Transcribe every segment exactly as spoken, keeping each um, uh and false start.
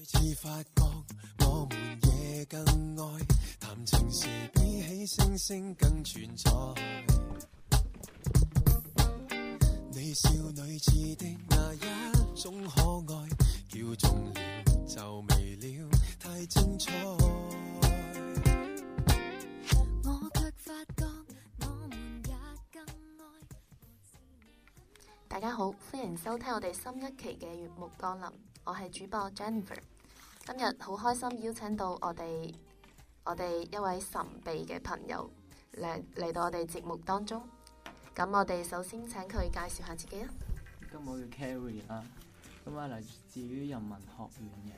次發覺我們夜更愛談情時，比起星星更存在。你少女似的那一種可愛，叫中了就未了，太精彩。我卻發覺我們也更愛。 大家好，歡迎收聽我哋新一期嘅月幕降臨，我係主播 Jennifer。今日好開心邀請到我哋我哋一位神秘嘅朋友嚟嚟到我哋節目當中。咁我哋首先請佢介紹下自己啊。 咁我叫 Carrie 啦，咁啊嚟自於人文學院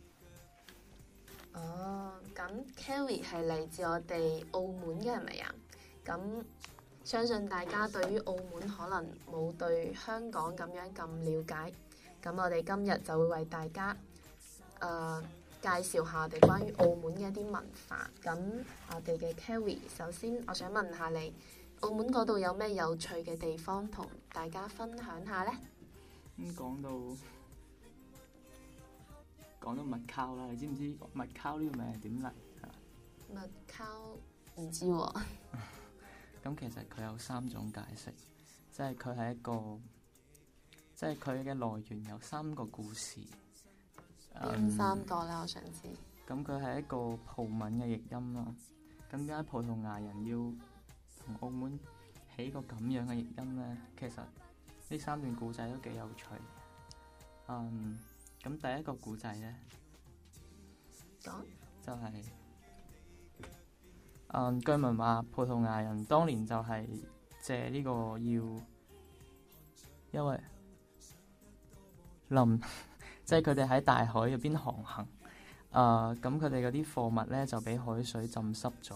嘅。 哦，咁 Carrie 係嚟自我哋澳門嘅係咪啊？咁相信大家對於澳門可能冇對香港咁樣咁了解，咁我哋今日就會為大家誒、呃、介紹下我哋關於澳門嘅一啲文化。咁我哋嘅 Carrie，首先我想問下你，澳門嗰度有咩有趣嘅地方同大家分享下呢？ 咁講到講到麥溝啦，你知唔知麥溝呢個名係點嚟？ 麥溝唔知喎、啊。 咁其實佢有三種解釋，即係佢係一個，即係佢嘅來源有三個故事。 邊三個咧？我想知。 咁佢係一個葡文嘅譯音啦。咁點解葡萄牙人要同澳門起個咁樣嘅譯音咧？其實呢三段古仔都幾有趣。嗯，咁第一個古仔咧， 講就係、是。嗯，據聞話葡萄牙人當年就係借呢個要，因為臨即係佢哋喺大海入邊航行，啊咁佢哋嗰啲貨物咧就俾海水浸濕咗，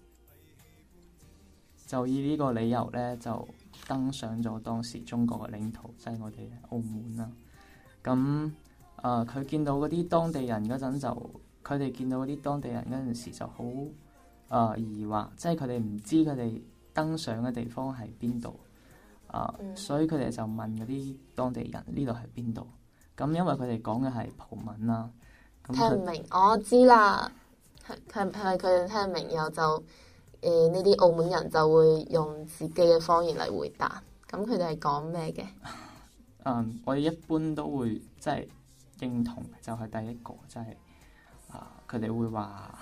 就以呢個理由咧就登上咗當時中國嘅領土，即係我哋澳門啦。咁啊，佢見到嗰啲當地人嗰陣就，佢哋見到嗰啲當地人嗰陣時就好。啊、呃！疑惑，即係佢哋唔知佢哋登上嘅地方係邊度啊，嗯、所以佢哋就問嗰啲當地人呢度係邊度？咁因為佢哋講嘅係葡文啦，聽唔明，我知啦，係係係咪佢哋聽唔明，然後就誒呢啲澳門人就會用自己嘅方言嚟回答。咁佢哋係講咩嘅？ 嗯，我哋一般都會即係認同，就係第一個，即係啊，佢、呃、哋會話。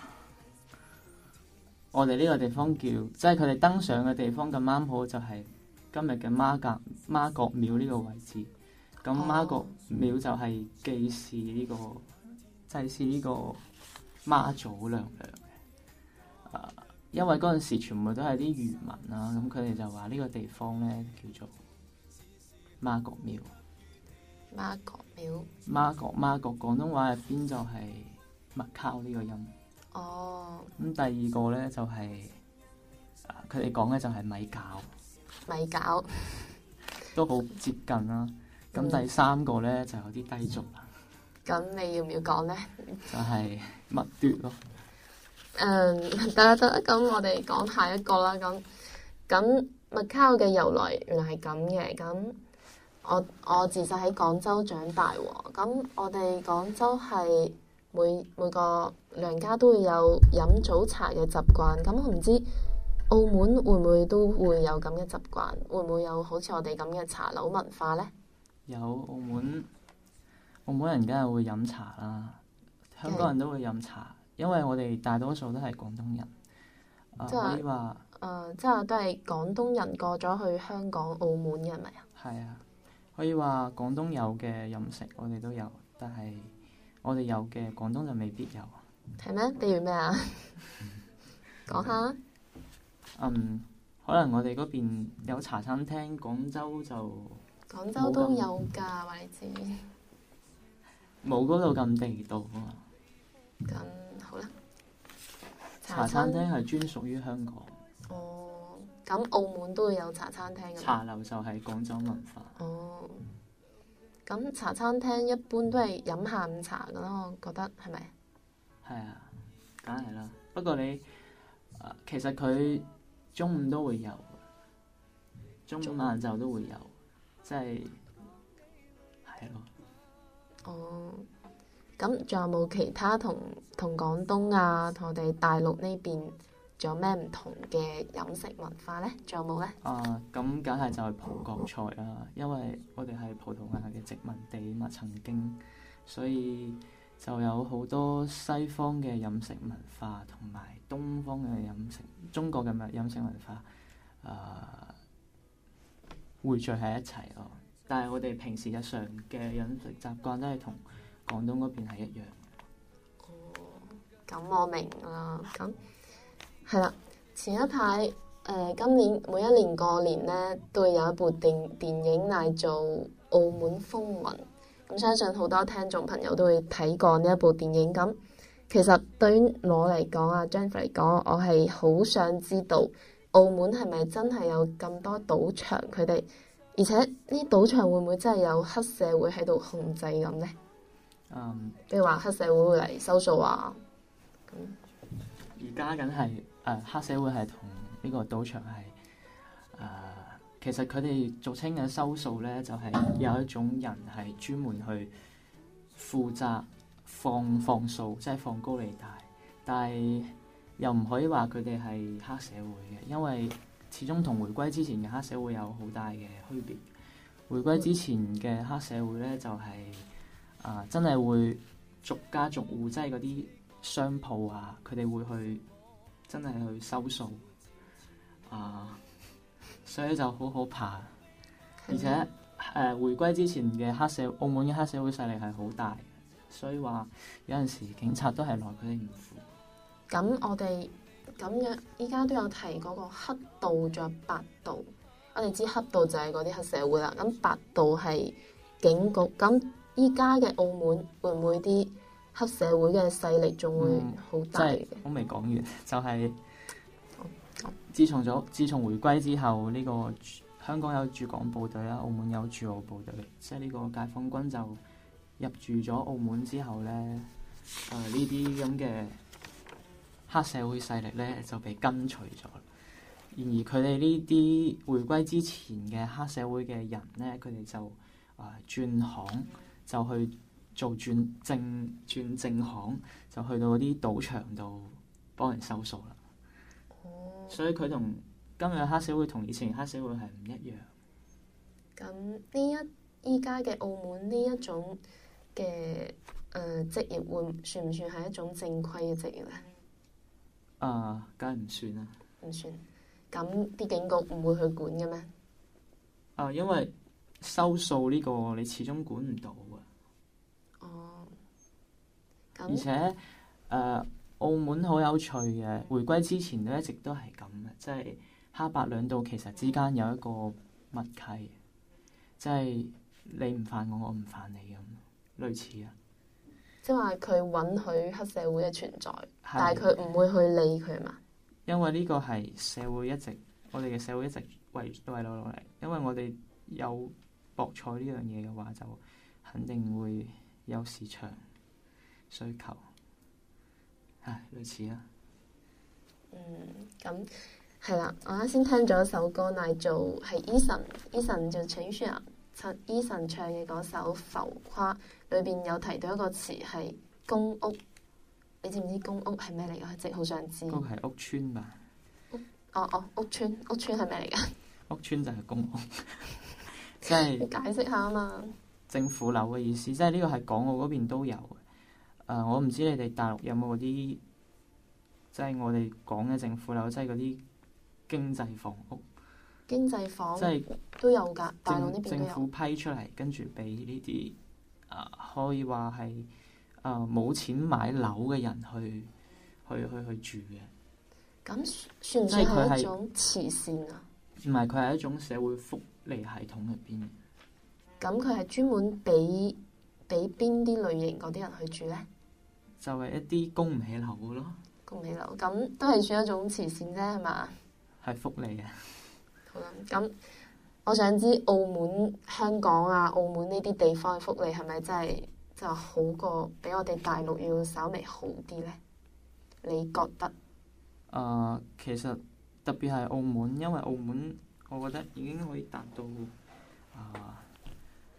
我哋呢個地方叫，即係佢哋登上嘅地方咁啱好就係今日嘅媽閣媽閣廟呢個位置。咁媽閣廟就係祭祀呢個祭祀呢個媽祖娘娘嘅。啊，因為嗰陣時全部都係啲漁民啦，咁佢哋就話呢個地方咧叫做媽閣廟。 媽閣廟。 媽閣媽閣廣東話入邊就係麥溝呢個音。 哦， 咁、嗯、第二個咧就係、是，啊，佢哋講嘅就係米餃， 米餃都好接近啦。咁、嗯、第三個咧就有啲低俗啦。 咁你要唔要講咧？ 就係麥奪咯。 嗯，得啦得啦，咁我哋講下一個啦。咁咁麥溝嘅由來原來係咁嘅。咁我我自細喺廣州長大喎。咁我哋廣州係。每每個娘家都會有飲早茶嘅習慣，咁我唔知澳門會唔會都會有咁嘅習慣，會唔會有好似我哋咁嘅茶樓文化呢？ 有，澳門澳門人梗係會飲茶啦，香港人都會飲茶，因為我哋大多數都係廣東人。即係可以話誒，即係都係廣東人過咗去香港、澳門嘅係咪啊？係啊，可以話廣東有嘅飲食我哋都有，但係。我哋有嘅，廣東就未必有。 係咩？比如咩啊？講下。 嗯，可能我哋嗰邊有茶餐廳，廣州就廣州都有㗎，話你知。 冇嗰度咁地道啊嘛。 咁好啦。 茶餐廳係專屬於香港。 哦，咁澳門都會有茶餐廳㗎。 茶樓就係廣州文化。 哦。咁茶餐廳一般都係飲下午茶㗎咯，我覺得係咪？ 係啊，梗係啦。不過你、呃、其實佢中午都會有，中午晏晝都會有，即係係咯。 哦， 咁仲有冇其他同同廣東啊，同我哋大陸呢邊仲有咩唔同嘅飲食文化呢？仲有冇呢？ 啊，咁梗係就係葡國菜啦，因為我哋係葡萄牙嘅殖民地嘛，曾經，所以就有好多西方嘅飲食文化同埋東方嘅飲食，中國嘅飲食文化，啊、匯聚喺一齊咯。但係我哋平時日常嘅飲食習慣都係同廣東嗰邊係一樣。 哦，咁我明啦。咁係啦，前一排誒、呃、今年每一年過年咧，都會有一部電電影嗌做《澳門風雲》。咁相信好多聽眾朋友都會睇過呢一部電影。咁其實對於我嚟講啊，Jennifer 嚟講，我係好想知道澳門係咪真係有咁多賭場？佢哋而且呢賭場會唔會真係有黑社會喺度控制咁呢？ 嗯， 譬如話黑社會會嚟收數啊。咁而家梗係誒黑社會係同呢個賭場係誒、呃，其實佢哋俗稱嘅收數咧，就係、是、有一種人係專門去負責放放數，即係放高利貸，但係又唔可以話佢哋係黑社會嘅，因為始終同回歸之前嘅黑社會有好大嘅區別。回歸之前嘅黑社會咧，就係、是、啊、呃，真係會逐家逐戶，即係嗰啲商鋪啊，佢哋會去真係去收數啊、呃，所以就好可怕。而且誒、呃，回歸之前嘅黑社，澳門嘅黑社會勢力係好大，所以話有陣時警察都係奈佢哋唔負。 咁我哋咁樣依家都有提嗰個黑道，仲有白道。我哋知黑道就係嗰啲黑社會啦，咁白道係警局。咁依家嘅澳門會唔會啲黑社會嘅勢力仲會好大嘅？ 我未講完，就係、是、自從咗自從回歸之後，呢、這個香港有駐港部隊啦，澳門有駐澳部隊，即係呢個解放軍就入駐咗澳門之後咧，誒呢啲咁嘅黑社會勢力咧就被根除咗。然而佢哋呢啲回歸之前嘅黑社會嘅人咧，佢哋就誒、呃、轉行，就去做轉正轉正行，就去到嗰啲賭場度幫人收數啦。 哦， 所以佢同今日黑社會同以前黑社會係唔一樣。 咁呢一依家嘅澳門呢一種嘅誒、呃、職業會算唔算係一種正規嘅職業咧？ 啊，梗係唔算啦。 唔算。咁啲警局唔會去管嘅咩？ 啊，因為收數呢個你始終管唔到嘅。 哦。 而且誒、呃，澳門好有趣嘅，回歸之前都一直都係咁嘅，即係黑白兩道其實之間有一個默契，即係你唔犯我，我唔犯你咁，類似啊。 即係話佢允許黑社會嘅存在， 係但係佢唔會去理佢嘛？ 因為呢個係社會一直，我哋嘅社會一直維維落落嚟。因為我哋有博彩呢樣嘢嘅話，就肯定會有市場需求。唉，類似啦。 嗯，咁係啦。我啱先聽咗一首歌，嗌做係 Eason，Eason 就陳奕迅啊，陳 Eason 唱嘅嗰首《浮誇》，裏邊有提到一個詞係公屋。你知唔知公屋係咩嚟㗎？即係好想知。 嗰個係屋邨吧？ 屋哦哦，屋邨屋邨係咩嚟㗎？ 屋邨就係公屋，即係你解釋下啊嘛。 政府樓嘅意思，即係呢個係港澳嗰邊都有嘅。誒、呃，我唔知你哋大陸有冇嗰啲，即係我哋講嘅政府樓，即係嗰啲經濟房屋。 經濟房即係都有㗎，大陸呢邊都有。 政府批出嚟，跟住俾呢啲誒，可以話係。誒冇、呃、錢買樓嘅人去去去去住嘅， 咁算唔算係一種慈善啊？ 唔係，佢係一種社會福利系統入邊。 咁佢係專門俾俾邊啲類型嗰啲人去住咧？ 就係一啲供唔起樓嘅咯。 供唔起樓，咁都係算一種慈善啫，係嘛？係福利啊！ 好啦，咁我想知澳門、香港啊、澳門呢啲地方嘅福利係咪真係？就好過比我哋大陸要稍微好啲咧？你覺得？誒、 呃，其實特別係澳門，因為澳門我覺得已經可以達到啊、呃，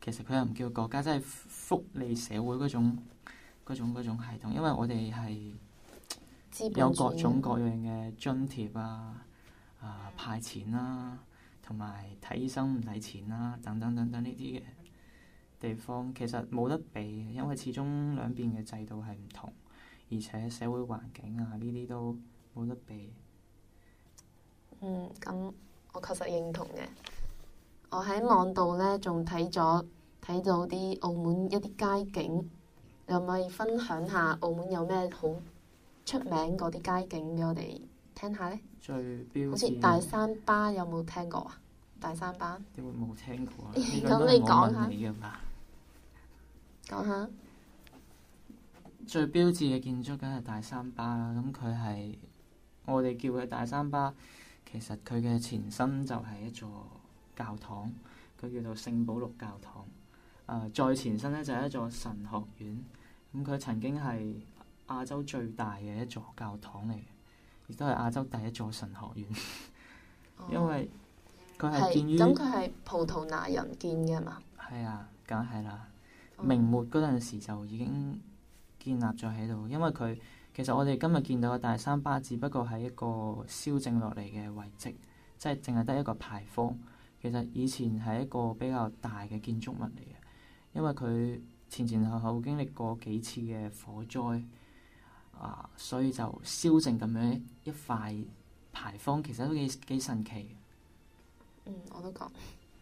其實佢又唔叫國家，即係福利社會嗰種嗰種嗰種系統，因為我哋係有各種各樣嘅津貼啊、啊派錢啦，同埋睇醫生唔使錢啦，等等等等呢啲嘅地方，其實冇得比，因為始終兩邊嘅制度係唔同，而且社會環境啊呢啲都冇得比。 嗯，咁我確實認同嘅。我喺網度咧仲睇咗睇到啲澳門一啲街景，你可唔可以分享下澳門有咩好出名嗰啲街景俾我哋聽下咧？ 最標誌好似大三巴有冇聽過啊？大三巴點會冇聽過啊？ 咁你講下。 你㗎嘛？ 講下。 最標誌嘅建築梗係大三巴啦，咁佢係我哋叫佢大三巴，其實佢嘅前身就係一座教堂，佢叫做聖保祿教堂。誒、呃，再前身咧就係一座神學院，咁佢曾經係亞洲最大嘅一座教堂嚟嘅，亦都係亞洲第一座神學院。 哦、 因為佢係建於咁，佢係葡萄牙人建嘅嘛？ 係啊，梗係啦。 哦、 明末嗰陣時就已經建立咗喺度，因為佢其實我哋今日見到嘅大三巴只不過係一個燒剩落嚟嘅遺跡，即係淨係得一個牌坊。其實以前係一個比較大嘅建築物嚟嘅，因為佢前前後後經歷過幾次嘅火災啊，所以就燒剩咁樣一塊牌坊，其實都幾幾神奇。 嗯，我都覺。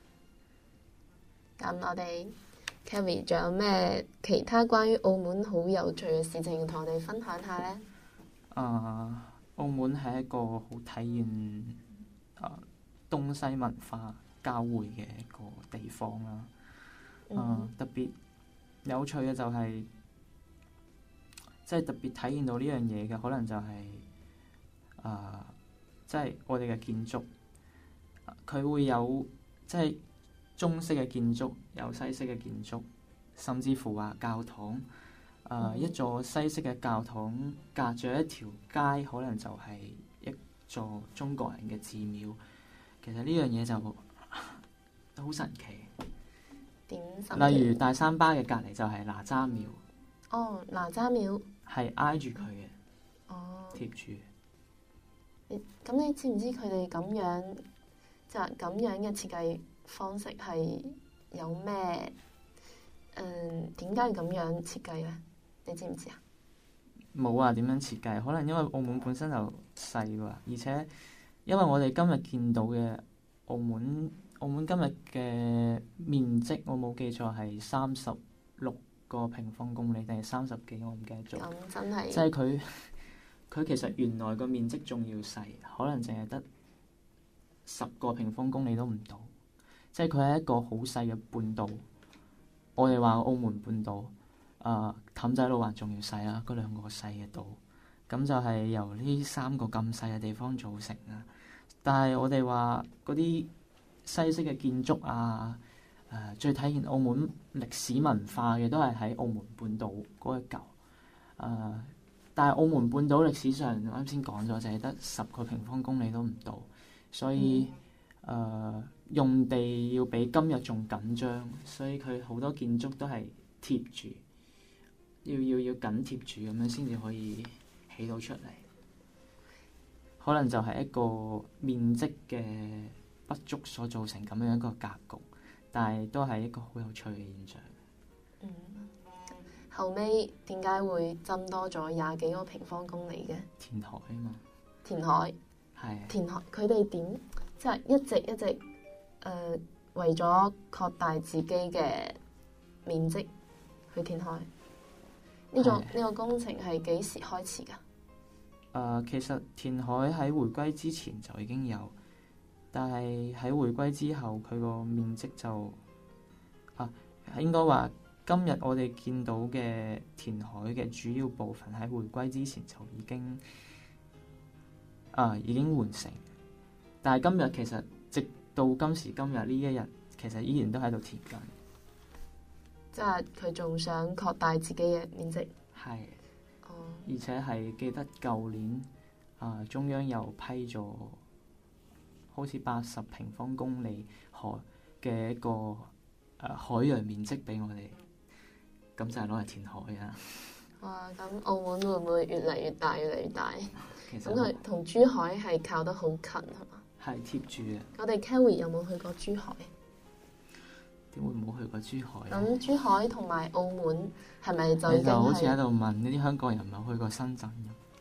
咁我哋 Kerry 仲有咩其他關於澳門好有趣嘅事情同我哋分享下呢？ 啊，澳門係一個好體現啊東西文化交匯嘅一個地方啦。啊， 嗯、 特別有趣嘅就係、是，即係特別體現到呢樣嘢嘅，可能就係、是、啊，即係我哋嘅建築，佢會有即係中式嘅建築，有西式嘅建築，甚至乎話教堂。啊，一座西式嘅教堂隔住一條街，可能就係一座中國人嘅寺廟。其實呢樣嘢就好神奇。 點神奇？ 例如大三巴嘅隔離就係哪吒廟。 哦，哪吒廟係挨住佢嘅。 哦。 貼住。 你咁你知唔知佢哋咁樣就係咁樣嘅設計方式係有咩？嗯，點解要咁樣設計咧？你知唔知啊？ 冇話點樣設計，可能因為澳門本身就細喎，而且因為我哋今日見到嘅澳門，澳門今日嘅面積，我冇記錯係三十六個平方公里定係三十幾，我唔記得咗。 咁真係。 即係佢佢其實原來個面積仲要細，可能淨係得十個平方公里都唔到。即係佢係一個好細嘅半島。我哋話澳門半島。啊，氹仔路環仲要細啦，嗰兩個細嘅島，咁就係由呢三個咁細嘅地方組成啦。但係我哋話嗰啲西式嘅建築啊，誒、呃、最體現澳門歷史文化嘅都係喺澳門半島嗰一嚿。誒、呃，但係澳門半島歷史上啱先講咗，就係得十個平方公里都唔到，所以誒、呃、用地要比今日仲緊張，所以佢好多建築都係貼住。要要要緊貼住咁樣先至可以起到出嚟，可能就係一個面積嘅不足所造成咁樣一個格局，但係都係一個好有趣嘅現象。 嗯，後尾點解會增多咗廿幾個平方公里嘅？ 填海啊嘛。 填海。 係。 填海，佢哋點即係一直一直誒、呃、為咗擴大自己嘅面積去填海。呢種呢個工程係幾時開始㗎？誒、 呃，其實填海喺回歸之前就已經有，但係喺回歸之後，佢個面積就啊，應該話今日我哋見到嘅填海嘅主要部分喺回歸之前就已經啊已經完成，但係今日其實直到今時今日呢一日，其實依然都喺度填緊。 即係佢仲想擴大自己嘅面積。 係。 哦。 而且係記得舊年啊、呃，中央又批咗好似八十平方公里海嘅一個呃、海洋面積俾我哋，咁就係攞嚟填海啊！ 哇！咁澳門會唔會越嚟越大，越嚟越大？ 其實咁佢同珠海係靠得好近係嘛？ 係貼住嘅。 我哋 Kerry 有冇去過珠海？ 點會冇去過珠海咧？ 咁珠海同埋澳門係咪就已經你就好似喺係度問呢啲香港人有冇去過深圳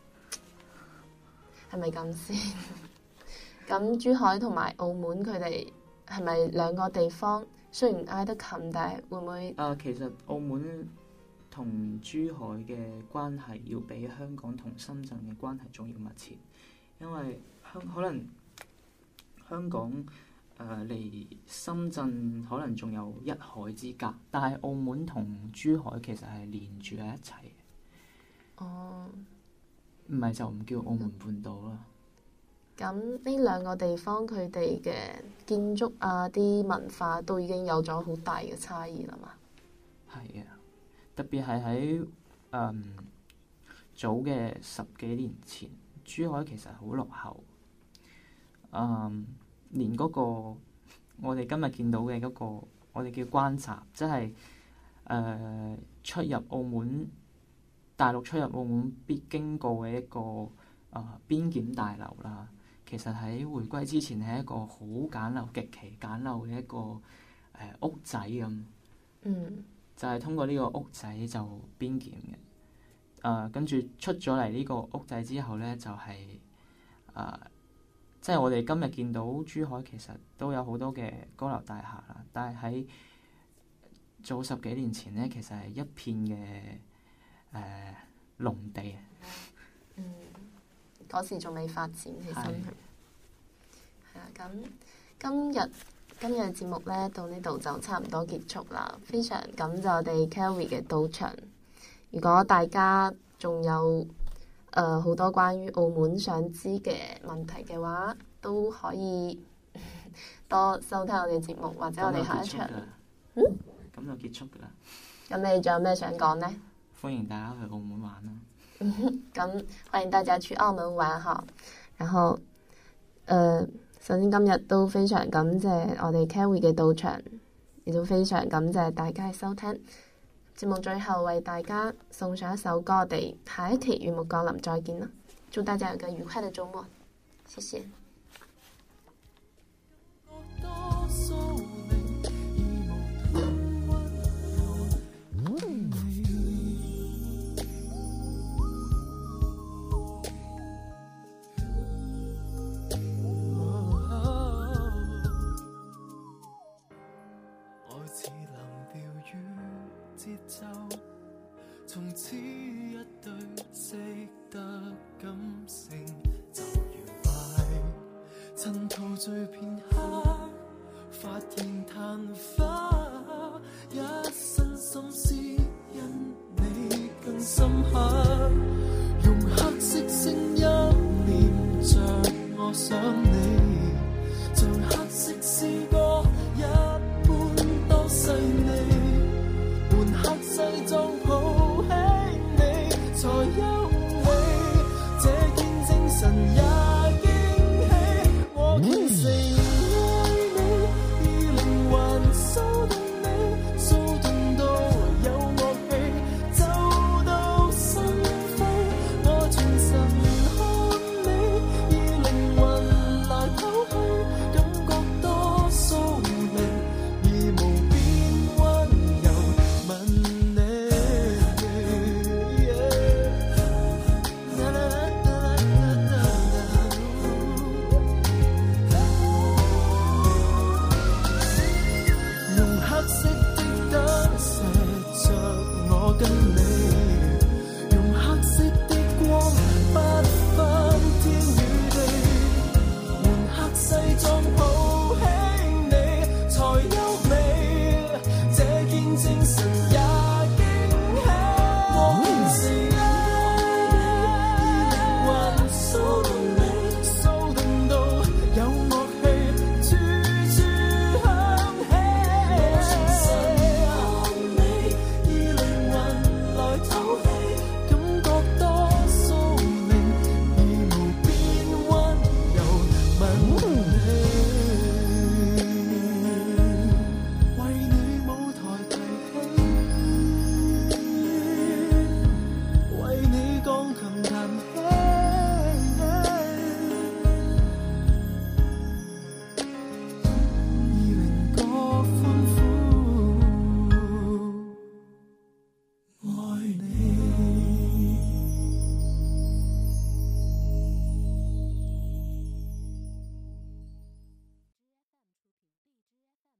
咁？ 係咪咁先？咁珠海同埋澳門佢哋係咪兩個地方？雖然挨得近，但係會唔會？ 啊，其實澳門同珠海嘅關係要比香港同深圳嘅關係仲要密切，因為香可能香港誒離、呃、深圳可能仲有一海之隔，但係澳門同珠海其實係連住喺一齊嘅。 哦， 唔係就唔叫澳門半島啦。 咁呢兩個地方佢哋嘅建築啊、啲文化都已經有咗好大嘅差異啦嘛。 係啊，特別係喺誒早嘅十幾年前，珠海其實好落後。嗯，連嗰個我哋今日見到嘅嗰個我哋叫關閘，即係誒出入澳門大陸出入澳門必經過嘅一個誒、呃、邊檢大樓啦。其實喺回歸之前係一個好簡陋、極其簡陋嘅一個誒、呃、屋仔咁。 嗯。 就係通過呢個屋仔就邊檢嘅。誒、呃，跟住出咗嚟呢個屋仔之後咧，就係、是、誒、呃，即係我哋今日見到珠海其實都有好多嘅高樓大廈啦，但係喺早十幾年前咧，其實係一片嘅誒、呃、農地。 嗯。嗰時仲未發展起身，係啊！咁今日今日嘅節目咧到呢度就差唔多結束啦。非常感謝我哋 Kerry 嘅到場。如果大家仲有誒好、呃、多關於澳門想知嘅問題嘅話，都可以多收聽我哋節目，或者我哋下一場。嗯， 咁就結束㗎啦。 咁你仲有咩想講呢？ 歡迎大家去澳門玩啦！ 咁歡迎大家去澳門玩哈，然後，誒、呃，首先今日都非常感謝我哋 Kerry 嘅到場，亦都非常感謝大家嘅收聽。節目最後為大家送上一首歌，我哋下一期月幕降臨再見啦！祝大家有個愉快嘅週末，謝謝。 從此一對識得感性就愉快，趁陶醉片刻，發現曇花，一身心思因你更深刻。